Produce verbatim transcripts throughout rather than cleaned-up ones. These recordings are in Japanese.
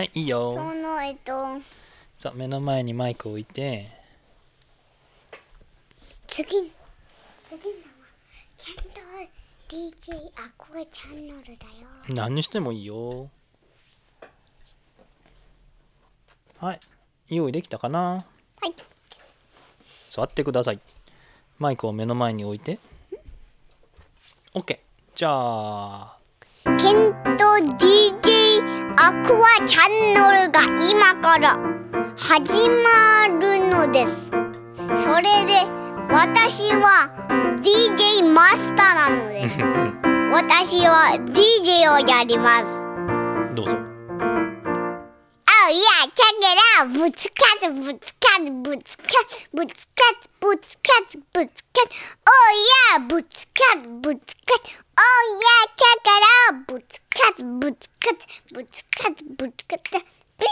はいいいよ。 そのえっとさあ目の前にマイクを置いて、 次次のはケント ディージェー アクアチャンネルだよ。 何にしてもいいよ。はい、用意できたかな。 はい。 座ってください。マイクを目の前に置いて。OK。じゃあケント ディージェー アクアチャンネルが今から始まるのです。それで私は ディージェー マスターなのです。私は ディージェー をやります。 どうぞ。 Oh yeah, check it out. ぶつかつぶつかつぶつかつぶつかつぶつかつぶつかつ Oh yeah, ぶつかつぶつかつ Oh yeah, check it out. ぶつかつぶつかつぶつかつぶつかつ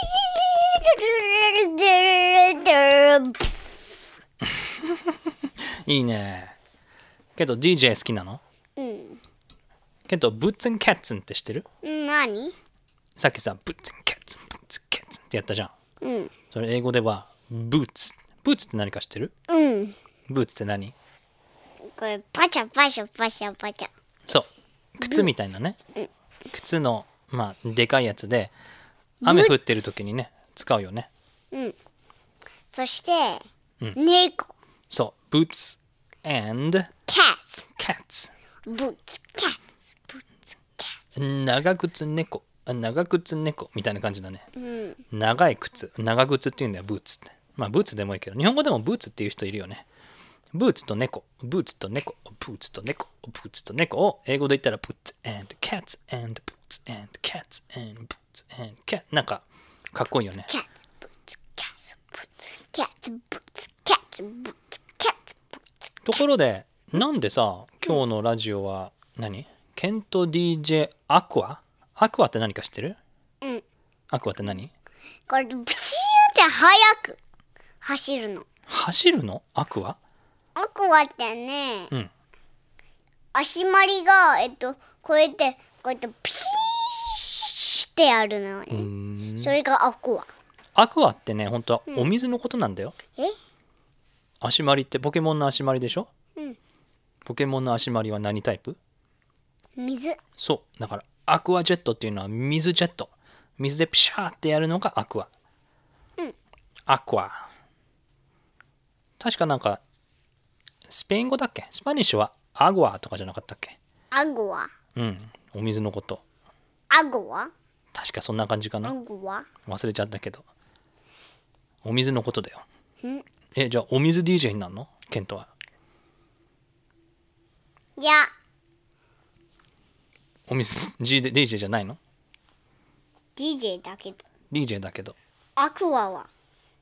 いいね。けど ディージェー 好きなの？ うん。 けどブッツンキャッツンって知ってる？ 何？ さっきさブッツンキャッツンブッツンキャッツンってやったじゃん。 うん。 それ英語ではブーツ。ブーツって何か知ってる？ うん。 ブーツって何？ これパチャパチャパチャパチャ。 そう。靴みたいなね。靴のまあでかいやつで雨降ってる時にね使うよね。 うん。そして、 うん、 猫。 そう。ブーツ and cats。 cats。 ブーツキャッツブーツキャッツ。 長靴猫。長靴猫みたいな感じだね。 うん、 長い靴。長靴っていうんだよブーツって。まあブーツでもいいけど日本語でもブーツっていう人いるよね。ブーツと猫、ブーツと猫、ブーツと猫、ブーツと猫を英語で言ったら Boots and Cats and Boots and Cats and Boots and Cats なんかかっこいいよね。 キャッツ、ブーツ、キャッツ、ブーツ、キャッツ、ブーツ、キャッツ、ブーツ、キャッツ、ブーツ。 ところでなんでさ今日のラジオは何？ケント ディージェー アクア？アクアって何か知ってる？ うん。 アクアって何？ これプシューって速く走るの。 走るの？アクア？ アクアってね、 うん、 足回りがえっとこうやってこうやってピシーってやるのね。それがアクア。 アクアってね本当はお水のことなんだよ。 うん、え？ 足回りってポケモンの足回りでしょ？ うん。 ポケモンの足回りは何タイプ？ 水。 そうだからアクアジェットっていうのは水ジェット。水でプシャーってやるのがアクア。 うん。 アクア。確かなんかスペイン語だっけ？スパニッシュはアグアとかじゃなかったっけ？ アグア。 うん、お水のこと。 アグア？ 確かそんな感じかな。 アグア？ 忘れちゃったけど。お水のことだよ。 ん？ え、じゃあお水 ディージェー になるの？ケントは。 いや。 お水 ディージェー じゃないの？ ディージェー だけど。 ディージェー だけど。 アクアは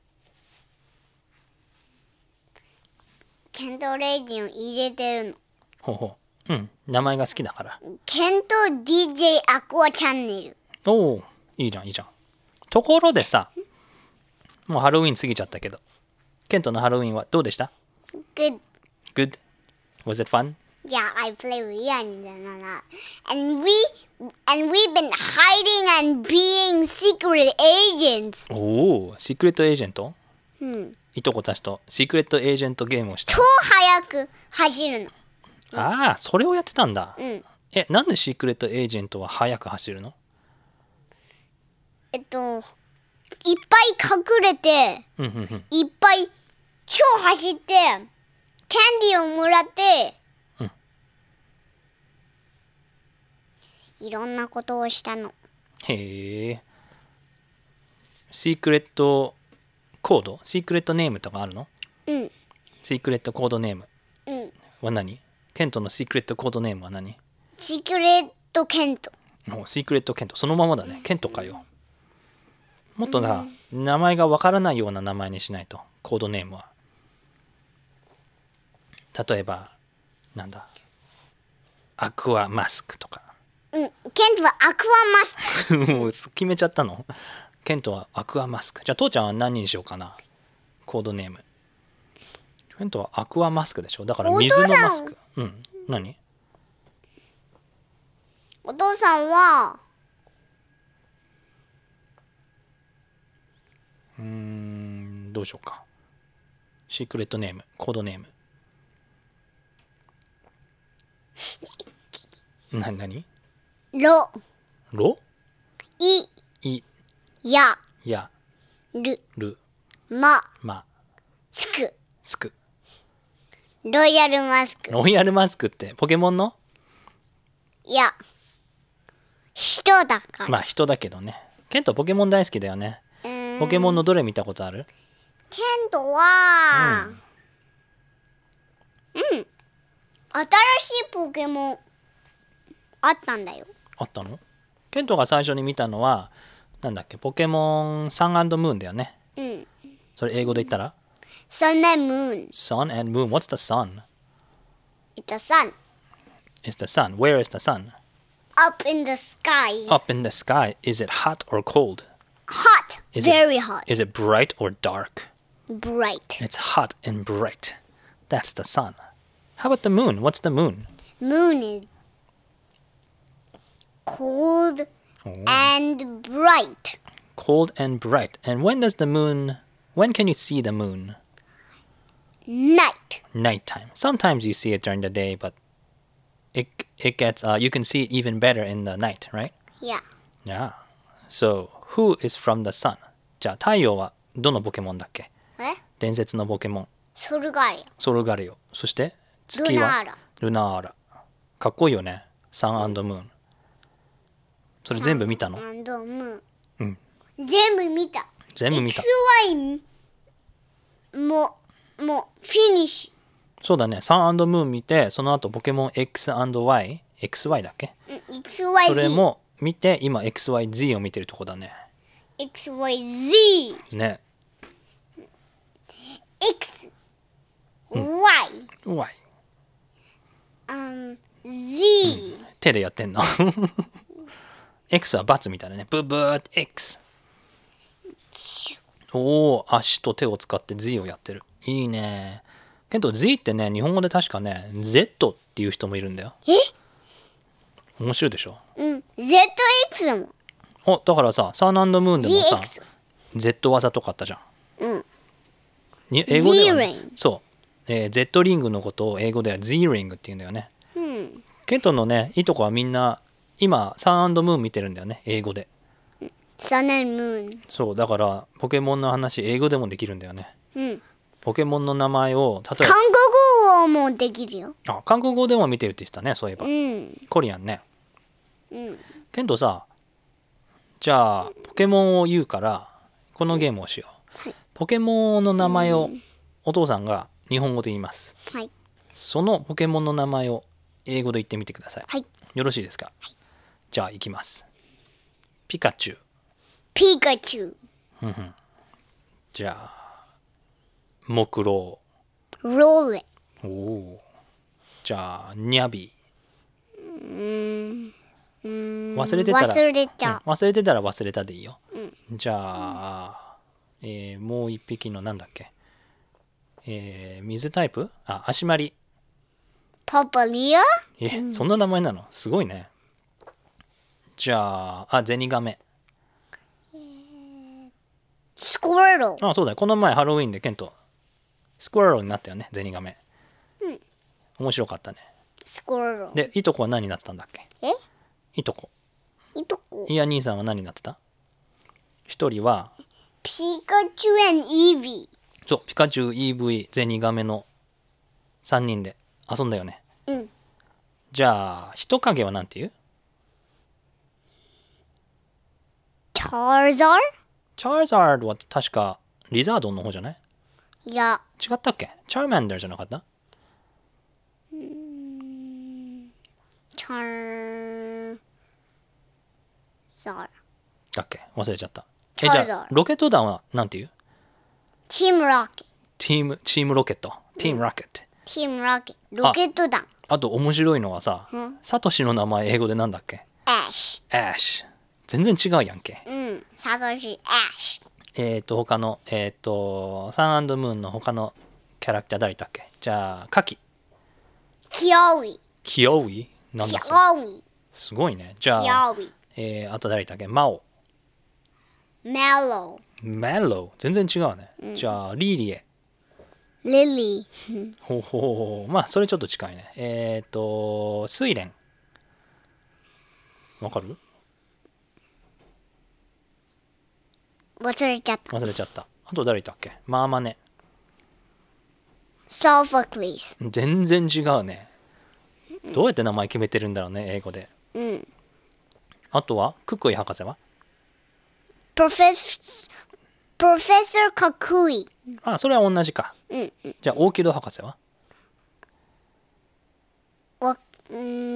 ケントレイディンを入れてるの。 ほうほう。うん、名前が好きだから。 ケント ディージェー アクアチャンネル。 おお、いいじゃんいいじゃん。ところでさ、もうハロウィン過ぎちゃったけど、ケントのハロウィンはどうでした？ Good. Good? Was it fun? Yeah, I play with you and and we and we've been hiding and being secret agents. おお、シークレットエージェント？ うん。 いとこたちとシークレットエージェントゲームをした。 超速く走るの。 ああ、それをやってたんだ。 うん。 え、なんでシークレットエージェントは速く走るの？ えっといっぱい隠れて、 うんうんうん、 いっぱい超走ってキャンディーをもらって、 うん、 いろんなことをしたの。 へえ。シークレットコード？シークレットネームとかあるの？ うん。 シークレットコードネームうんは何？ケントのシークレットコードネームは何？ シークレットケント。 お、シークレットケント。そのままだね。ケントかよ。もっとな、うん、名前がわからないような名前にしないと。コードネームは。例えばなんだ、アクアマスクとか。 うん。ケントはアクアマスク。 もう決めちゃったの？ケントはアクアマスク。じゃあ父ちゃんは何にしようかな、コードネーム。ケントはアクアマスクでしょ。だから水のマスク。うん。何？ お父さんはどうしようか。シークレットネーム、コードネーム。なになに？ ろ、 ロ？ い、 い、 や、 や、 る、 る、 ま、 ま、 つく。 つく。 ロイヤルマスク。 ロイヤルマスクってポケモンの？ いや、人だから。 まあ人だけどね。ケントポケモン大好きだよね。 うーんポケモンのどれ見たことある？ ケントは、うん、新しいポケモンあったんだよ。 あったの？ケントが最初に見たのはなんだっけ、ポケモンサン&ムーンだよね。 うん。 それ英語で言ったら Sun and Moon. Sun and Moon. What's the sun? It's a sun. It's the sun. Where is the sun? Up in the sky. Up in the sky. Is it hot or cold? Hot. Is it- Very hot. Is it bright or dark? Bright. It's hot and bright. That's the sun. How about the moon? What's the moon? Moon is cold Oh. and bright. Cold and bright. And when does the moon, when can you see the moon? Night. Nighttime. Sometimes you see it during the day, but it it gets uh, you can see it even better in the night, right? Yeah. Yeah. So who is from the sun? じゃあ太陽はどのポケモンだっけ？ え伝説のポケモン。 ソルガリソルガリオ。そして月はルナーラ。 ルナーラ。かっこいいよね。サン&ムーン。それ全部見たの？ アンドムーン。 うん。 全部見た。 全部見たエックスワイ も、もう、フィニッシそうだね。サン&ムーン見て、その後ポケモン X and Y、エックスワイ だっけ？ ュ。エックスワイそ Z。 れも見て、今 エックスワイ Z を見てるとこだね。 エックスワイ Z。 ね。 X。Y。 Y。 um, Z。 手でやってんのX は×みたいなね。ブブーって X。おお、足と手を使って Z をやってる。いいね。けど Z ってね、日本語で確かね、Z っていう人もいるんだよ。 え面白いでしょ？ うん。ゼットエックス だもん。 お、だからさ、サン&ムーンでもさゼットエックス。 Z 技とかあったじゃん。 うん。 に英語では、ね Z-ring。 そう、えー Z リングのことを英語では Z リングって言うんだよね。 うん。 ケントのね、いいとこはみんな、今、サン&ムーン見てるんだよね、英語で。 サンandムーン。 そう、だから、ポケモンの話、英語でもできるんだよね。 うん。 ポケモンの名前を、例え韓国語もできるよ。 ば、あ、韓国語でも見てるって言ってたね、そういえば。 うん。 コリアンね。 うん。 ケントさ、じゃあ、ポケモンを言うから、このゲームをしよう。 はいポケモンの名前をお父さんが日本語で言います。 はい。 そのポケモンの名前を英語で言ってみてください。 はい。 よろしいですか？じゃあ、行きます。ピカチュウ。 ピカチュウ。 ふんふんじゃあ、木狼。 ローレ。 おお。じゃあ、ニャビ。 うーん。うーん忘れてたら忘れちゃうん忘れてたら忘れたでいいよ。 う。うん。 じゃあ、えーもう一匹のなんだっけ、えー水タイプ、あ、足まり。 パパリア。 え、そんな名前なの？すごいね。じゃあ、あ、ゼニガメ。 スコレロ。 あ、そうだよ。この前ハロウィンでケント、スクワローになったよね、ゼニガメ。 うん。 面白かったね。 スコレロ。 で、いとこは何になってたんだっけ？ えいとこ。 いとこ。 いや兄さんは何になってた？一人は、 ピカチュウ and イービそう、ピカチュウ、イーブイ、ゼニガメのさんにんで遊んだよね。 ー。うん。 じゃあ、人影はなんて言う？ チャーザーチャーザードは確かリザードンの方じゃない？ いや、 違ったっけ？チャーマンダーじゃなかった？ チャーザー。 だっけ？忘れちゃった。え、 チャーザーじゃあ、ロケット団はなんて言う？ チームロケット。 チーム、チームロケット。チームロケット。 チームロケット。ロケット団。 あと面白いのはさ、 うんサトシの名前英語でなんだっけ？ アッシアッシュ。全然違うやんけ。 ュ。うん。サトシ、アッシュ。 えっ、ー、と、他の、えっ、ー、と、サン&ムーンの他のキャラクター誰だっけ？じゃあ、カキ。 キヨウイ。 キオウイなんキだそれ？ ヨウイ。 すごいね。じゃキあ、 ヨウイ。 えー、あと誰だっけ？マオ。 メロ mellow 全然違うね、うん、じゃあリリエリリーほうほうほうまあそれちょっと近いねえっ、ー、と睡蓮わかる忘れちゃった忘れちゃったあと誰いたっけマーマネソフォクリス全然違うねどうやって名前決めてるんだろうね英語で、 うん、 あとはクックイ博士はプロフェスプロフェッサーカクイあそれは同じか、 うんうん、 じゃあオーキッド博士はわ、うん、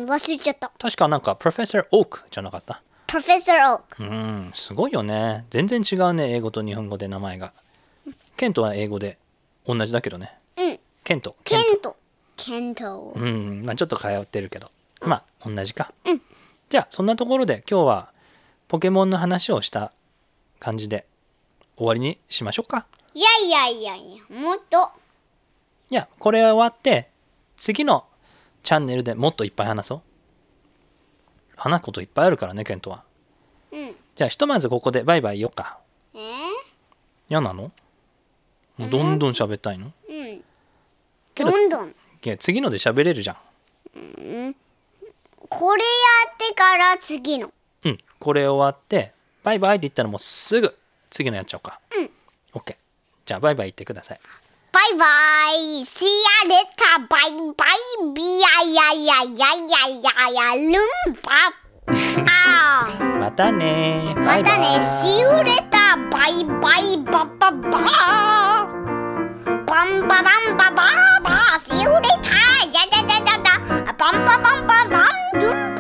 忘れちゃった確かなんかプロフェッサーオークじゃなかったプロフェッサーオークうんすごいよね全然違うね英語と日本語で名前がケントは英語で同じだけどねうんケントケントケントうんまあちょっと通ってるけどまあ同じか、 うん、 じゃあそんなところで今日はポケモンの話をした感じで終わりにしましょうかいやいやいやいやもっといやこれ終わって次のチャンネルでもっといっぱい話そう話すこといっぱいあるからねケントは、 うん、 じゃあひとまずここでバイバイ言おうかえー、 嫌なのもうどんどん喋ったいの、 うんけどどんどんいや次ので喋れるじゃん、 うん、これやってから次のうんこれ終わってバイバイって言ったらもうすぐ次のやっちゃおうかうん OK じゃあバイバイ言ってくださいバイバイ See ya later バイバイビヤヤヤヤヤヤヤルンパあまたねまたね See you later バイバイババババンババンバババ See you later やややややバンババンババンドゥン